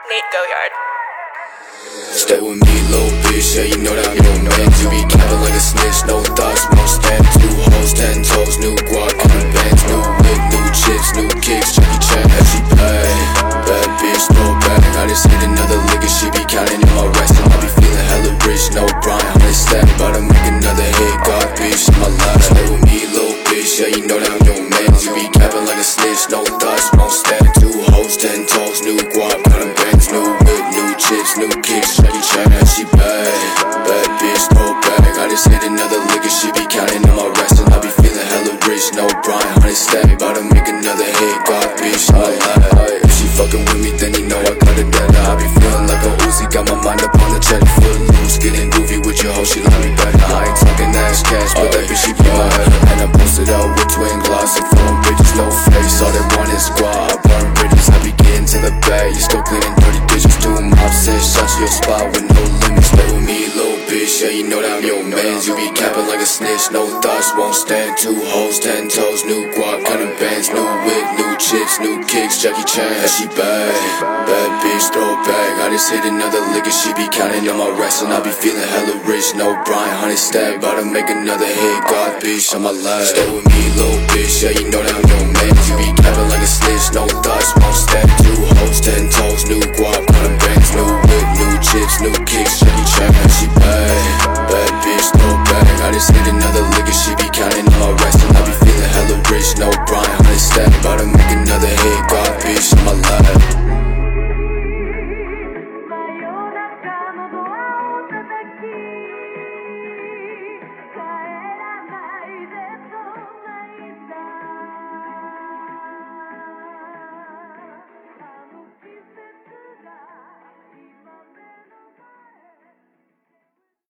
Nate Goyard. Stay with me, little bitch, yeah, you know that I'm your man. You be capping like a snitch, no thoughts, won't stand. 2 hoes, 10 toes, new guac, new bands, new whip, new chips, new kicks, Jackie Chan, as she play. Bad bitch, throw back, I just hit another lick and she be counting in my rest. And I be feeling hella rich, no Brian, 100 stack, about to make another hit, God bitch, in my life. Stay with me, little bitch, yeah, you know that I'm your man. You be capping like a snitch, no thoughts, won't stand. 2 hoes, 10 toes, new guac, new bands, new whip, new chips, new kicks, Jackie Chan, as she play. Bad bitch, throw back, I just hit another lick and she be counting in my rest. And I be feeling hella rich, no Brian, 100 stack, about to make another hit, God bitch, in my life. If she fucking with me, then you know I got it better. I be feeling like a Uzi, got my mind up on the check, foot loose, getting goofy with your hoe, she love me better. I ain't talking ass cash, but that bitch she be my head. And I posted out with twin gloss and foreign bitches, no face, all they want is squad. I burn bridges, I be getting to the bag, you still cleaning 30 digits, 2 mob says, shot to your spot with no limits. Stay with me, little bitch, yeah, you know that I'm your mans. You be capping like a snitch, no thoughts, won't stand. 2 hoes, 10 toes, new guac, bands, new whip, new chips, new kicks, Jackie Chan, as she bad. Bad bitch, throw back, I just hit another lick and she be counting on my rest. And I be feeling hella rich, no Brian, 100 stack, about to make another hit, God bitch, on my life. Stay with me, little bitch, yeah, you know that I'm your man. You be capping like a snitch, no thoughts.